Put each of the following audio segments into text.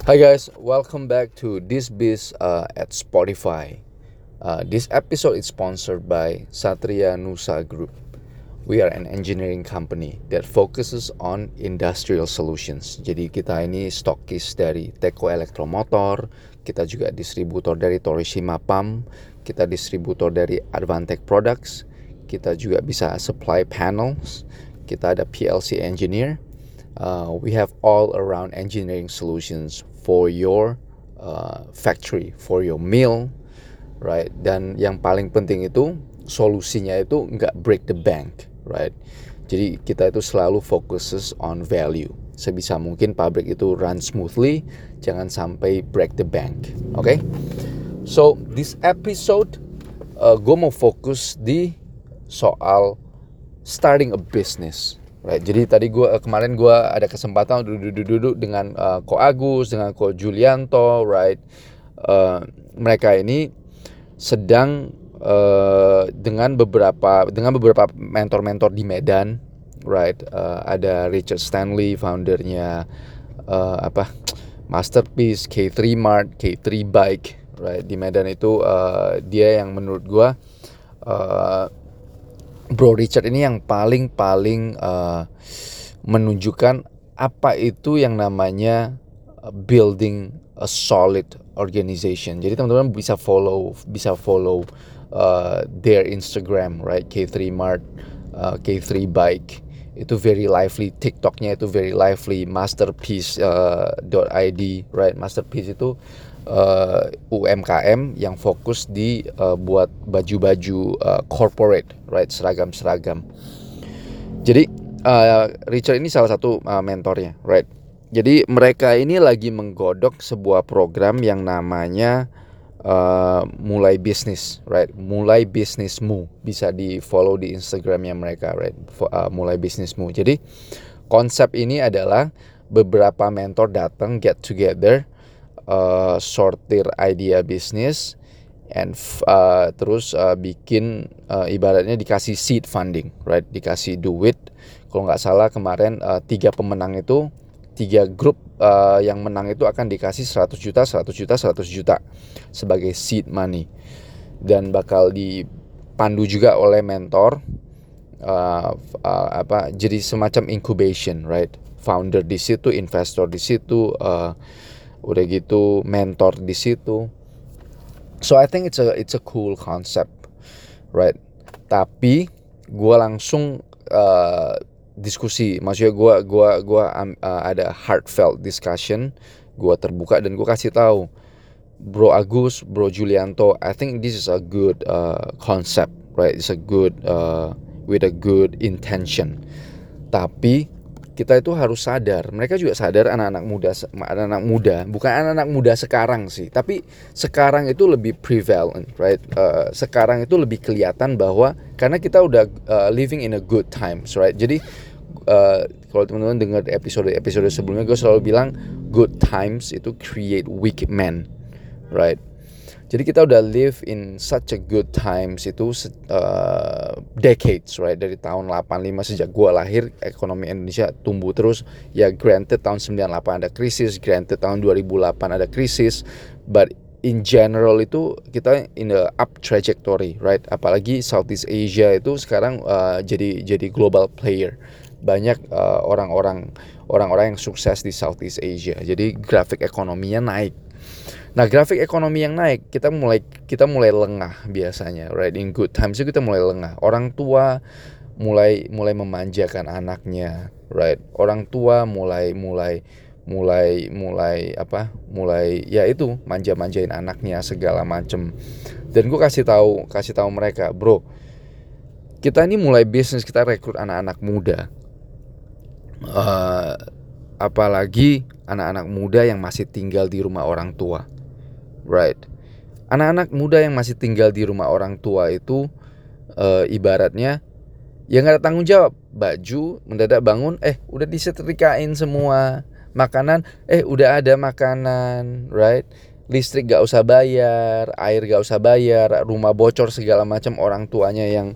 Hi guys, welcome back to This Biz at Spotify. This episode is sponsored by Satria Nusa Group. We are an engineering company that focuses on industrial solutions. Jadi kita ini stokis dari Teko Elektromotor, kita juga distributor dari Torishima Pump, kita distributor dari Advantech Products, kita juga bisa supply panels, kita ada PLC engineer. We have all around engineering solutions for your factory, for your mill, right? Dan yang paling penting itu solusinya itu nggak break the bank, right? Jadi kita itu selalu focuses on value. Sebisa mungkin pabrik itu run smoothly, jangan sampai break the bank, okay? So this episode gue mau fokus di soal starting a business. Right, jadi tadi kemarin gue ada kesempatan duduk dengan Ko Agus, dengan Ko Julianto, right? Mereka ini sedang dengan beberapa mentor-mentor di Medan, right? Ada Richard Stanley, foundernya Masterpiece, K3 Mart, K3 Bike, right? Di Medan itu dia yang menurut gue Bro Richard ini yang paling menunjukkan apa itu yang namanya building a solid organization. Jadi teman-teman bisa follow their Instagram, right? K3 Mart, K3 Bike. Itu very lively, TikToknya itu very lively, masterpiece.id, right? Masterpiece itu UMKM yang fokus di buat baju-baju corporate, right? Seragam. Jadi Richard ini salah satu mentornya, right? Jadi mereka ini lagi menggodok sebuah program yang namanya mulai bisnis, right? Mulai bisnismu, bisa di follow di Instagramnya mereka, right? Mulai bisnismu. Jadi konsep ini adalah beberapa mentor datang get together, sortir idea bisnis, and terus bikin ibaratnya dikasih seed funding, right? Dikasih duit. Kalau nggak salah kemarin 3 pemenang itu, 3 grup yang menang itu akan dikasih 100 juta sebagai seed money, dan bakal dipandu juga oleh mentor, jadi semacam incubation, right? Founder di situ, investor di situ, udah gitu mentor di situ. So I think it's a cool concept, right? Tapi gue langsung diskusi, maksudnya gue ada heartfelt discussion, gue terbuka dan gue kasih tahu Bro Agus, Bro Julianto, I think this is a good concept, right? It's a good with a good intention. Tapi kita itu harus sadar, mereka juga sadar, anak-anak muda, bukan anak-anak muda sekarang sih, tapi sekarang itu lebih prevalent, right? Sekarang itu lebih kelihatan bahwa karena kita udah living in a good times, right? Jadi kalau teman-teman dengar episode sebelumnya, gue selalu bilang good times itu create weak men, right? Jadi kita udah live in such a good times itu decades, right? Dari tahun 85 sejak gue lahir, ekonomi Indonesia tumbuh terus. Ya granted tahun 98 ada krisis, granted tahun 2008 ada krisis, but in general itu kita in the up trajectory, right? Apalagi Southeast Asia itu sekarang jadi global player. Banyak orang-orang yang sukses di Southeast Asia. Jadi grafik ekonominya naik. Nah, grafik ekonomi yang naik, kita mulai lengah biasanya, right? In good times itu kita mulai lengah. Orang tua mulai memanjakan anaknya, right? Orang tua mulai ya itu manja-manjain anaknya segala macem. Dan gue kasih tahu mereka, bro, kita ini mulai bisnis, kita rekrut anak-anak muda. Apalagi anak-anak muda yang masih tinggal di rumah orang tua, right? Anak-anak muda yang masih tinggal di rumah orang tua itu ibaratnya ya nggak ada tanggung jawab. Baju mendadak bangun, udah disetrikain semua. Makanan, udah ada makanan, right? Listrik gak usah bayar, air gak usah bayar, rumah bocor segala macam. Orang tuanya yang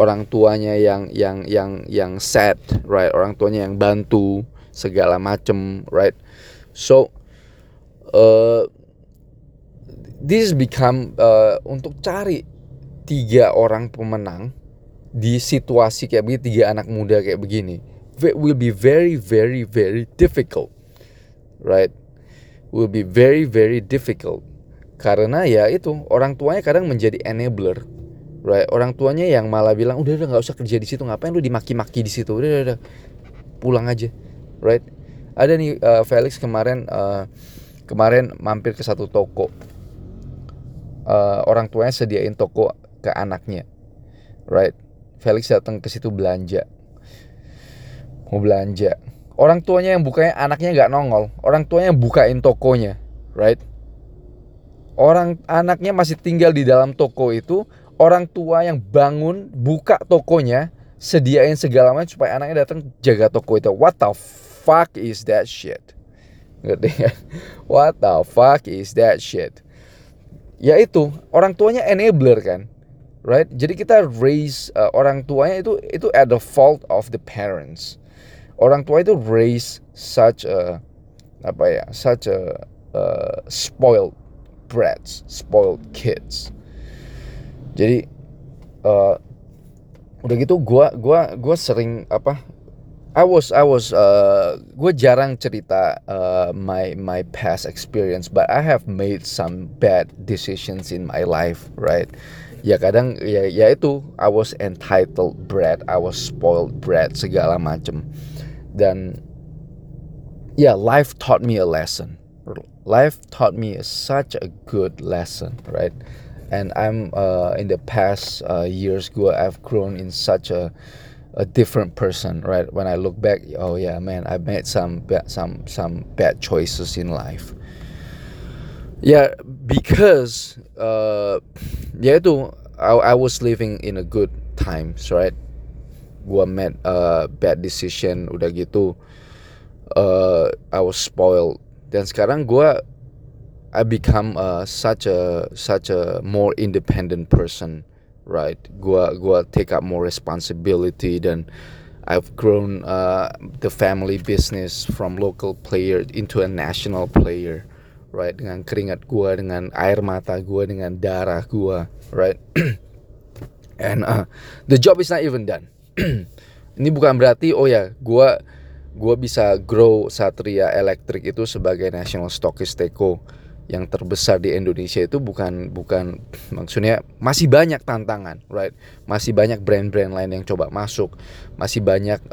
sad, right? Orang tuanya yang bantu segala macam, right? So uh, this become untuk cari 3 orang pemenang di situasi kayak begini, 3 anak muda kayak begini, will be very very very difficult, right? Will be very very difficult. Karena ya itu, orang tuanya kadang menjadi enabler, right? Orang tuanya yang malah bilang udah nggak usah kerja di situ, ngapain lu dimaki-maki di situ, udah pulang aja, right? Ada nih Felix kemarin mampir ke satu toko, orang tuanya sediain toko ke anaknya, right? Felix datang ke situ mau belanja, orang tuanya yang bukanya, anaknya nggak nongol, orang tuanya yang bukain tokonya, right? Anaknya masih tinggal di dalam toko itu, orang tua yang bangun buka tokonya, sediain segala macam supaya anaknya datang jaga toko itu. What the fuck is that shit? Ngerti ya? What the fuck is that shit? Ya itu, orang tuanya enabler kan, right? Jadi kita raise orang tuanya itu at the fault of the parents. Orang tua itu raise such a spoiled brats, spoiled kids. Jadi udah gitu gue sering gue jarang cerita my past experience, but I have made some bad decisions in my life, right? Ya kadang ya itu, I was entitled brat, I was spoiled brat, segala macem. Dan ya, life taught me a lesson. Life taught me such a good lesson, right? And I'm in the past years, I've grown in such a different person, right? When I look back, oh yeah, man, I made some bad choices in life. Yeah, because ya itu, I was living in a good times, right? Gua made bad decision, udah gitu I was spoiled. Dan sekarang I become such a more independent person, right? Gua take up more responsibility, dan I've grown the family business from local player into a national player, right? Dengan keringat gua, dengan air mata gua, dengan darah gua, right? And the job is not even done. Ini bukan berarti gue bisa grow Satria Electric itu sebagai national stockist teko yang terbesar di Indonesia. Itu bukan maksudnya masih banyak tantangan, right? Masih banyak brand-brand lain yang coba masuk, masih banyak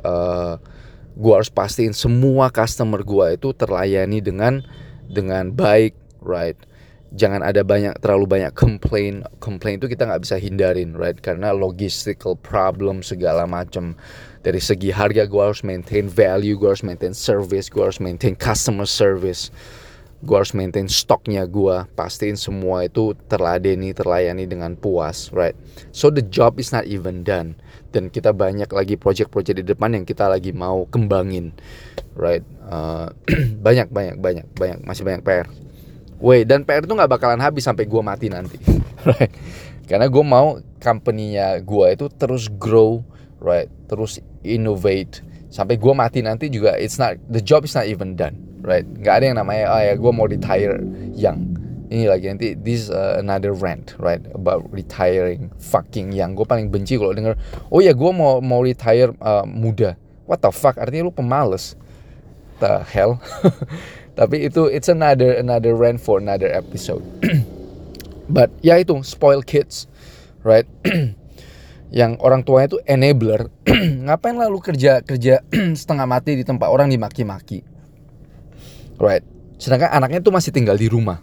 gue harus pastiin semua customer gue itu terlayani dengan baik, right? Jangan ada terlalu banyak complain itu kita nggak bisa hindarin, right? Karena logistical problem segala macam. Dari segi harga gue harus maintain value, gue harus maintain service, gue harus maintain customer service, gue harus maintain stoknya, gue pastiin semua itu terlayani dengan puas, right? So the job is not even done, dan kita banyak lagi project-project di depan yang kita lagi mau kembangin, right? Banyak masih banyak PR. Dan PR itu gak bakalan habis sampai gue mati nanti, right? Karena gue mau company-nya gue itu terus grow, right? Terus innovate sampai gue mati nanti juga. The job is not even done, right? Gak ada yang namanya gue mau retire young. Ini lagi nanti this another rant, right? About retiring fucking young. Gue paling benci kalau denger gue mau retire muda. What the fuck? Artinya lu pemalas. The hell. Tapi it's another rant for another episode. But ya itu, spoiled kids, right? Yang orang tuanya itu enabler. Ngapain lah lu kerja setengah mati di tempat orang dimaki-maki, right? Sedangkan anaknya tuh masih tinggal di rumah.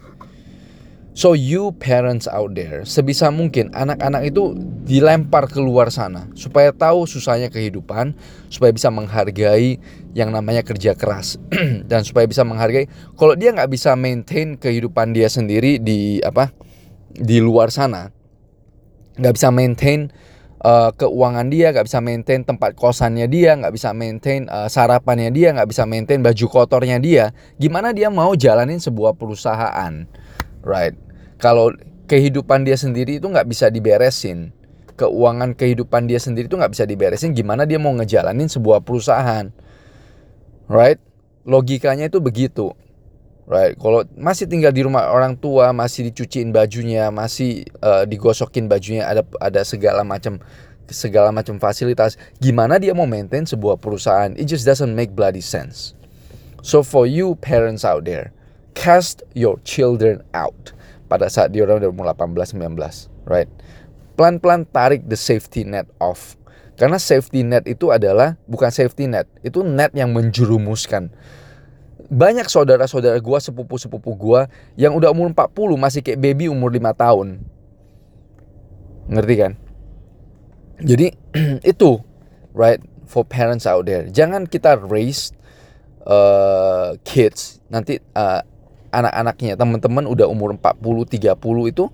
So you parents out there, sebisa mungkin anak-anak itu dilempar keluar sana supaya tahu susahnya kehidupan, supaya bisa menghargai yang namanya kerja keras, dan supaya bisa menghargai kalau dia nggak bisa maintain kehidupan dia sendiri di luar sana, nggak bisa maintain keuangan dia, nggak bisa maintain tempat kosannya dia, nggak bisa maintain sarapannya dia, nggak bisa maintain baju kotornya dia, gimana dia mau jalanin sebuah perusahaan, right? Kalau kehidupan dia sendiri itu nggak bisa diberesin, keuangan kehidupan dia sendiri itu nggak bisa diberesin, gimana dia mau ngejalanin sebuah perusahaan, right? Logikanya itu begitu. right? Kalau masih tinggal di rumah orang tua, masih dicuciin bajunya, masih digosokin bajunya, ada segala macam fasilitas, gimana dia mau maintain sebuah perusahaan? It just doesn't make bloody sense. So for you parents out there, cast your children out pada saat dia udah umur 18-19, right? Pelan-pelan tarik the safety net off. Karena safety net itu adalah bukan safety net, itu net yang menjerumuskan. Banyak saudara-saudara gue, sepupu-sepupu gue yang udah umur 40 masih kayak baby umur 5 tahun. Ngerti kan? Jadi itu, right, for parents out there. Jangan kita raise kids nanti anak-anaknya, teman-teman udah umur 40, 30 itu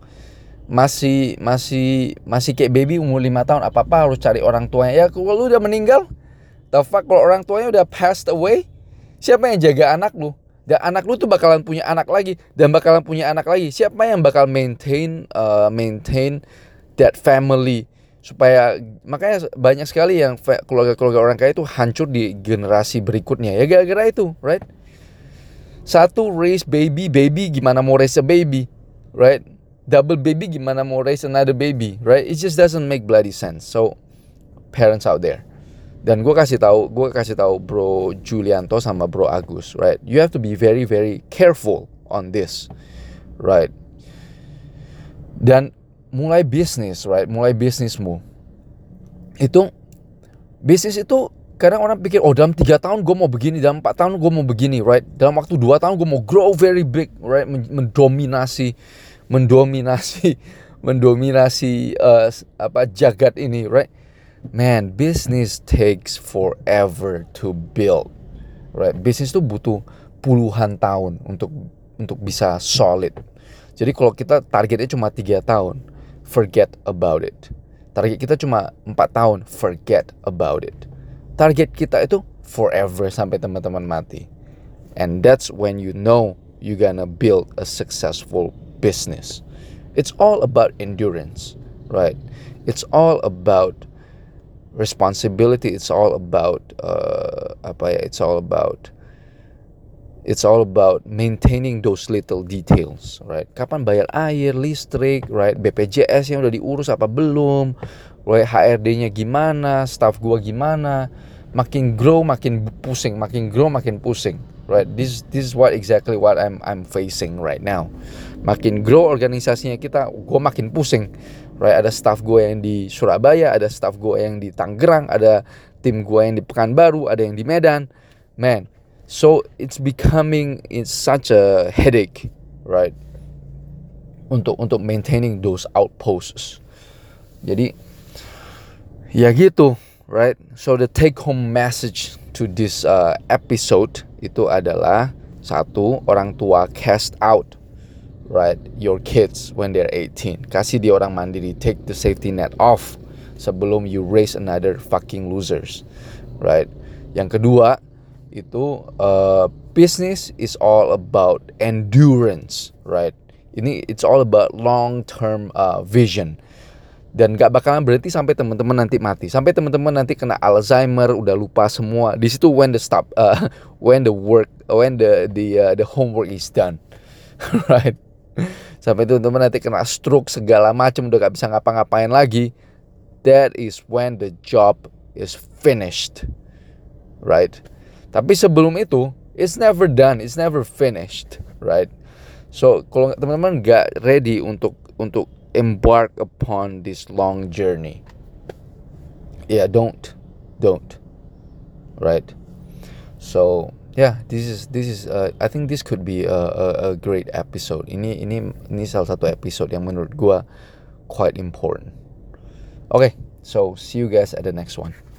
masih kayak baby umur 5 tahun. Apa-apa harus cari orang tuanya. Ya kalau lu udah meninggal, the fuck, kalau orang tuanya udah passed away, siapa yang jaga anak lu? Dan anak lu tuh bakalan punya anak lagi dan bakalan punya anak lagi. Siapa yang bakal maintain that family? Supaya makanya banyak sekali yang keluarga-keluarga orang kaya itu hancur di generasi berikutnya. Ya gara-gara itu, right? Satu, raise baby gimana mau raise a baby, right? Double baby gimana mau raise another baby, right? It just doesn't make bloody sense. So parents out there, dan gue kasih tahu Bro Julianto sama Bro Agus, right? You have to be very very careful on this, right? Dan mulai bisnis, right? Mulai bisnismu itu, bisnis itu kadang orang pikir, oh dalam 3 tahun gue mau begini, dalam 4 tahun gue mau begini, right? Dalam waktu 2 tahun gue mau grow very big, right? Mendominasi jagat ini, right? Man, business takes forever to build, right? Bisnis itu butuh puluhan tahun untuk bisa solid. Jadi kalau kita targetnya cuma 3 tahun, forget about it. Target kita cuma 4 tahun, forget about it. Target kita itu forever sampai teman-teman mati. And that's when you know you're gonna build a successful business. It's all about endurance, right? It's all about responsibility. It's all about It's all about maintaining those little details, right? Kapan bayar air, listrik, right? BPJS yang udah diurus apa belum? Right? HRD-nya gimana? Staff gua gimana? Makin grow makin pusing, makin grow makin pusing, right? This is what I'm facing right now. Makin grow organisasinya kita, gua makin pusing, right? Ada staff gua yang di Surabaya, ada staff gua yang di Tangerang, ada tim gua yang di Pekanbaru, ada yang di Medan, man. So it's such a headache, right? Untuk maintaining those outposts. Jadi ya gitu, right? So the take home message to this episode itu adalah, satu, orang tua cast out, right, your kids when they're 18. Kasih dia orang mandiri, take the safety net off sebelum you raise another fucking losers, right? Yang kedua itu business is all about endurance, right? It's all about long term vision, dan gak bakalan berhenti sampai teman-teman nanti mati, sampai teman-teman nanti kena Alzheimer, udah lupa semua. Di situ when the homework is done, right? Sampai teman-teman nanti kena stroke segala macam, udah gak bisa ngapa-ngapain lagi. That is when the job is finished, right? Tapi sebelum itu, it's never done, it's never finished, right? So kalau teman-teman gak ready untuk embark upon this long journey, yeah, don't, right? So yeah, this is I think this could be a great episode. Ini salah satu episode yang menurut gua quite important. Okay, so see you guys at the next one.